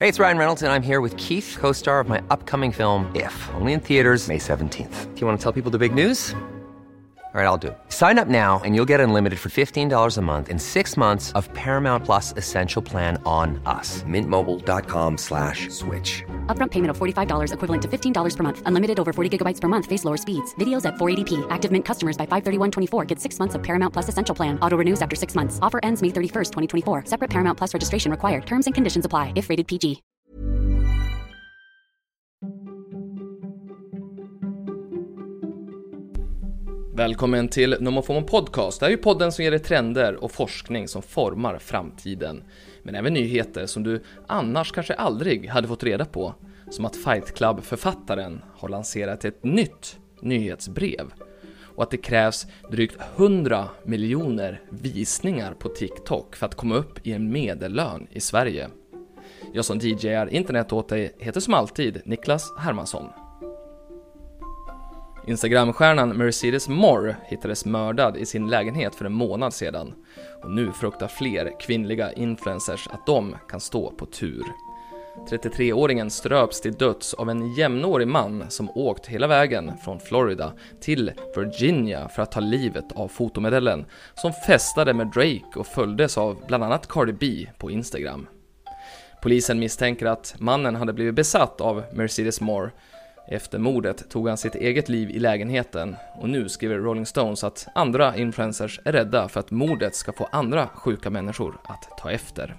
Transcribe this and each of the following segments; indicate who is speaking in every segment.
Speaker 1: Hey, it's Ryan Reynolds, and I'm here with Keith, co-star of my upcoming film, If, only in theaters May 17th. Do you want to tell people the big news? All right, I'll do it. Sign up now and you'll get unlimited for $15 a month and 6 months of Paramount Plus Essential Plan on us. MintMobile.com/switch.
Speaker 2: Upfront payment of $45 equivalent to $15 per month. Unlimited over 40 gigabytes per month. Face lower speeds. Videos at 480p. Active Mint customers by 531.24 get 6 months of Paramount Plus Essential Plan. Auto renews after 6 months. Offer ends May 31st, 2024. Separate Paramount Plus registration required. Terms and conditions apply if rated PG.
Speaker 3: Välkommen till NomoFomo Podcast. Det här är ju podden som ger dig trender och forskning som formar framtiden. Men även nyheter som du annars kanske aldrig hade fått reda på. Som att Fight Club-författaren har lanserat ett nytt nyhetsbrev. Och att det krävs drygt 100 miljoner visningar på TikTok för att komma upp i en medellön i Sverige. Jag som DJ:ar internet åt dig heter som alltid Niklas Hermansson. Instagramstjärnan Mercedes Morr hittades mördad i sin lägenhet för en månad sedan. Och nu fruktar fler kvinnliga influencers att de kan stå på tur. 33-åringen ströps till döds av en jämnårig man som åkt hela vägen från Florida till Virginia för att ta livet av fotomodellen som festade med Drake och följdes av bland annat Cardi B på Instagram. Polisen misstänker att mannen hade blivit besatt av Mercedes Morr. Efter mordet tog han sitt eget liv i lägenheten och nu skriver Rolling Stones att andra influencers är rädda för att mordet ska få andra sjuka människor att ta efter.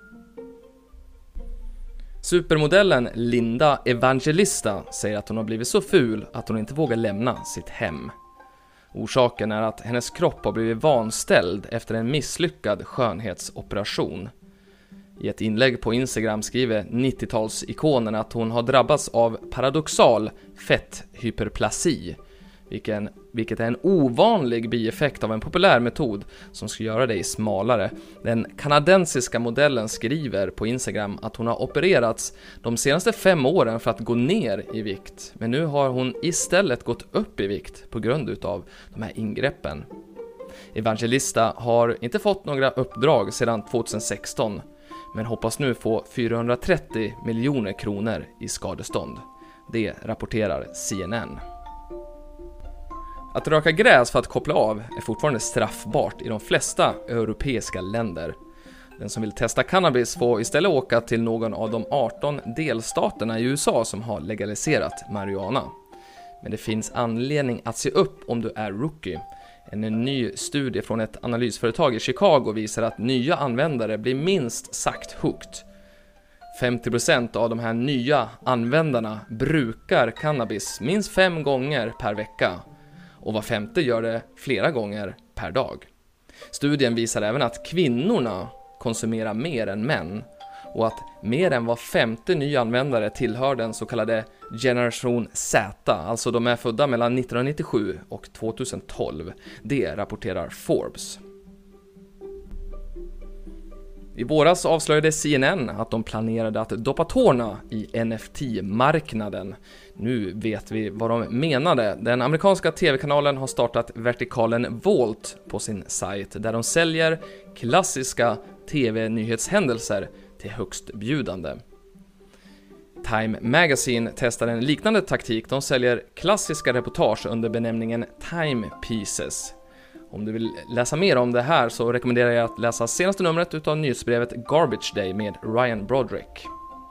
Speaker 3: Supermodellen Linda Evangelista säger att hon har blivit så ful att hon inte vågar lämna sitt hem. Orsaken är att hennes kropp har blivit vanställd efter en misslyckad skönhetsoperation. I ett inlägg på Instagram skriver 90-talsikonen att hon har drabbats av paradoxal fetthyperplasi, vilket är en ovanlig bieffekt av en populär metod som ska göra dig smalare. Den kanadensiska modellen skriver på Instagram att hon har opererats de senaste 5 åren för att gå ner i vikt, men nu har hon istället gått upp i vikt på grund utav de här ingreppen. Evangelista har inte fått några uppdrag sedan 2016, men hoppas nu få 430 miljoner kronor i skadestånd. Det rapporterar CNN. Att röka gräs för att koppla av är fortfarande straffbart i de flesta europeiska länder. Den som vill testa cannabis får istället åka till någon av de 18 delstaterna i USA som har legaliserat marijuana. Men det finns anledning att se upp om du är rookie. En ny studie från ett analysföretag i Chicago visar att nya användare blir minst sagt hooked. 50% av de här nya användarna brukar cannabis minst 5 gånger per vecka och var 5:e gör det flera gånger per dag. Studien visar även att kvinnorna konsumerar mer än män och att mer än var 5:e ny användare tillhör den så kallade generation Z, alltså de är födda mellan 1997 och 2012. Det rapporterar Forbes. I våras avslöjade CNN att de planerade att doppa tårna i NFT-marknaden. Nu vet vi vad de menade. Den amerikanska tv-kanalen har startat vertikalen Vault på sin sajt där de säljer klassiska tv-nyhetshändelser till högstbjudande. Time Magazine testar en liknande taktik. De säljer klassiska reportage under benämningen Time Pieces. Om du vill läsa mer om det här så rekommenderar jag att läsa senaste numret utav nyhetsbrevet Garbage Day med Ryan Broderick.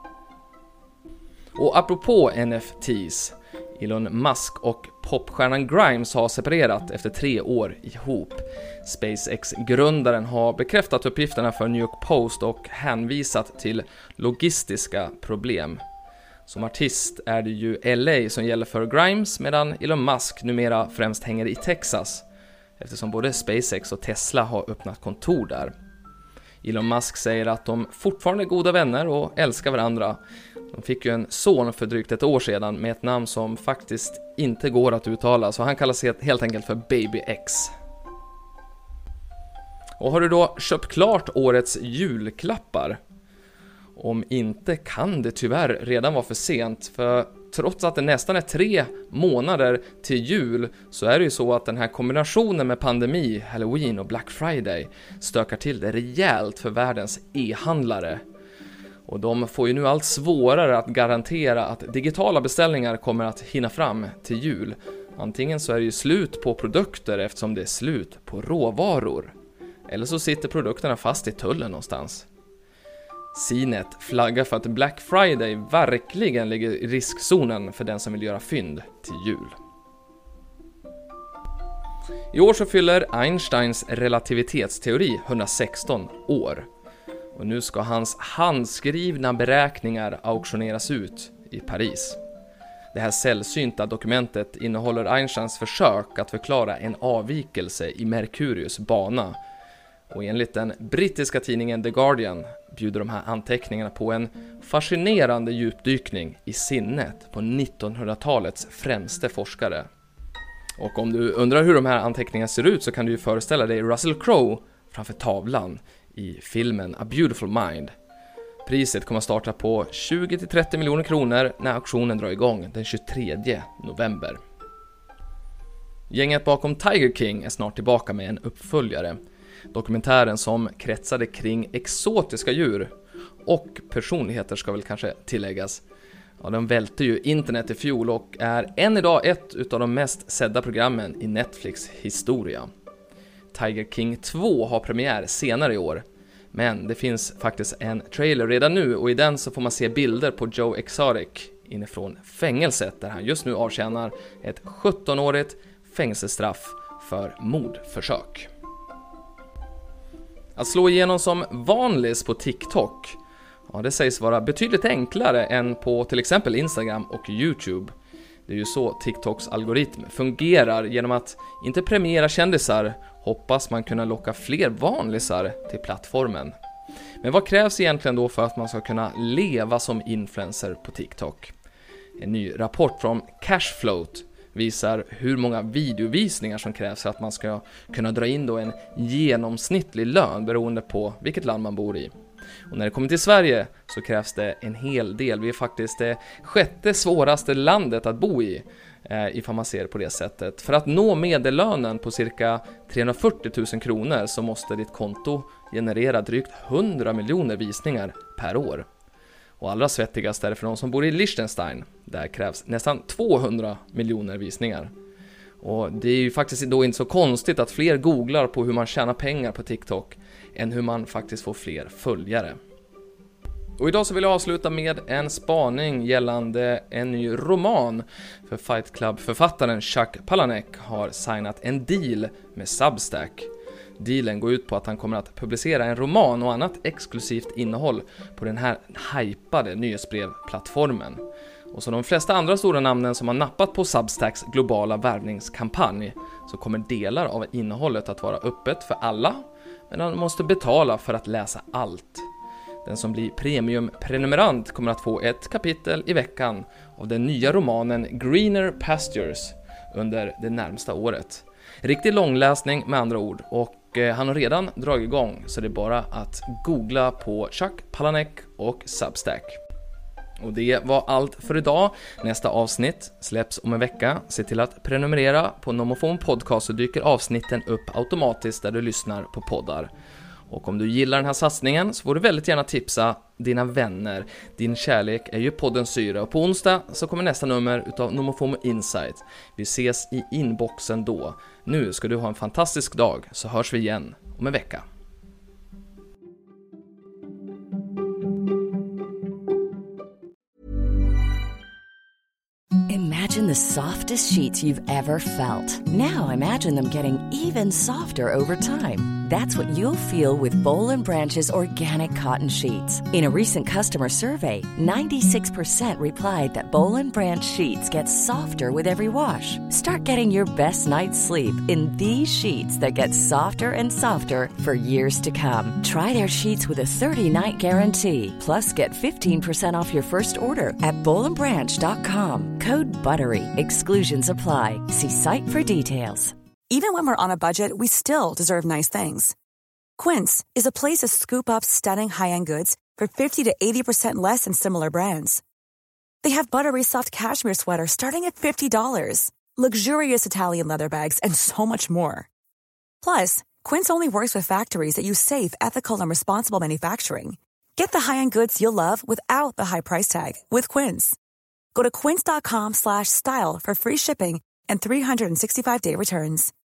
Speaker 3: Och apropå NFTs, Elon Musk och popstjärnan Grimes har separerat efter 3 år ihop. SpaceX-grundaren har bekräftat uppgifterna för New York Post och hänvisat till logistiska problem. Som artist är det ju LA som gäller för Grimes medan Elon Musk numera främst hänger i Texas eftersom både SpaceX och Tesla har öppnat kontor där. Elon Musk säger att de fortfarande är goda vänner och älskar varandra. De fick ju en son för drygt 1 år sedan med ett namn som faktiskt inte går att uttala, så han kallas helt enkelt för Baby X. Och har du då köpt klart årets julklappar? Om inte kan det tyvärr redan vara för sent, för trots att det nästan är 3 månader till jul så är det ju så att den här kombinationen med pandemi, Halloween och Black Friday stökar till det rejält för världens e-handlare. Och de får ju nu allt svårare att garantera att digitala beställningar kommer att hinna fram till jul. Antingen så är det ju slut på produkter eftersom det är slut på råvaror. Eller så sitter produkterna fast i tullen någonstans. CNET flaggar för att Black Friday verkligen ligger i riskzonen för den som vill göra fynd till jul. I år så fyller Einsteins relativitetsteori 116 år. Och nu ska hans handskrivna beräkningar auktioneras ut i Paris. Det här sällsynta dokumentet innehåller Einsteins försök att förklara en avvikelse i Merkurius bana. Och enligt den brittiska tidningen The Guardian bjuder de här anteckningarna på en fascinerande djupdykning i sinnet på 1900-talets främste forskare. Och om du undrar hur de här anteckningarna ser ut så kan du ju föreställa dig Russell Crowe framför tavlan i filmen A Beautiful Mind. Priset kommer att starta på 20-30 miljoner kronor när auktionen drar igång den 23 november. Gänget bakom Tiger King är snart tillbaka med en uppföljare. Dokumentären som kretsade kring exotiska djur och personligheter ska väl kanske tilläggas. Ja, den välte ju internet i fjol och är än idag ett utav de mest sedda programmen i Netflix historia. Tiger King 2 har premiär senare i år. Men det finns faktiskt en trailer redan nu och i den så får man se bilder på Joe Exotic inifrån fängelset där han just nu avtjänar ett 17-årigt fängelsestraff för mordförsök. Att slå igenom som vanlis på TikTok, ja, det sägs vara betydligt enklare än på till exempel Instagram och YouTube. Det är ju så TikToks algoritm fungerar. Genom att inte premiera kändisar hoppas man kunna locka fler vanlisar till plattformen. Men vad krävs egentligen då för att man ska kunna leva som influencer på TikTok? En ny rapport från Cashfloat visar hur många videovisningar som krävs för att man ska kunna dra in då en genomsnittlig lön beroende på vilket land man bor i. Och när det kommer till Sverige så krävs det en hel del. Vi är faktiskt det 6:e svåraste landet att bo i, ifall man ser på det sättet. För att nå medellönen på cirka 340 000 kronor så måste ditt konto generera drygt 100 miljoner visningar per år. Och allra svettigast är det för de som bor i Liechtenstein. Där krävs nästan 200 miljoner visningar. Och det är ju faktiskt då inte så konstigt att fler googlar på hur man tjänar pengar på TikTok än hur man faktiskt får fler följare. Och idag så vill jag avsluta med en spaning gällande en ny roman. För Fight Club-författaren Chuck Palahniuk har signat en deal med Substack. Dealen går ut på att han kommer att publicera en roman och annat exklusivt innehåll på den här hypade nyhetsbrevplattformen. Och som de flesta andra stora namnen som har nappat på Substacks globala värvningskampanj så kommer delar av innehållet att vara öppet för alla, men man måste betala för att läsa allt. Den som blir premiumprenumerant kommer att få ett kapitel i veckan av den nya romanen Greener Pastures under det närmsta året. Riktig långläsning med andra ord, och han har redan dragit igång så det är bara att googla på Chuck Palahniuk och Substack. Och det var allt för idag. Nästa avsnitt släpps om en vecka. Se till att prenumerera på Nomofon Podcast så dyker avsnitten upp automatiskt där du lyssnar på poddar. Och om du gillar den här satsningen så får du väldigt gärna tipsa dina vänner. Din kärlek är ju poddens syra. Och på onsdag så kommer nästa nummer utav Nomofomo Insight. Vi ses i inboxen då. Nu ska du ha en fantastisk dag så hörs vi igen om en vecka.
Speaker 4: Imagine the softest sheets you've ever felt. Now imagine them getting even softer over time. That's what you'll feel with Boll & Branch's organic cotton sheets. In a recent customer survey, 96% replied that Boll & Branch sheets get softer with every wash. Start getting your best night's sleep in these sheets that get softer and softer for years to come. Try their sheets with a 30-night guarantee. Plus, get 15% off your first order at bollandbranch.com. Code BUTTERY. Exclusions apply. See site for details.
Speaker 5: Even when we're on a budget, we still deserve nice things. Quince is a place to scoop up stunning high-end goods for 50 to 80% less than similar brands. They have buttery soft cashmere sweaters starting at $50, luxurious Italian leather bags, and so much more. Plus, Quince only works with factories that use safe, ethical, and responsible manufacturing. Get the high-end goods you'll love without the high price tag with Quince. Go to quince.com/style for free shipping and 365-day returns.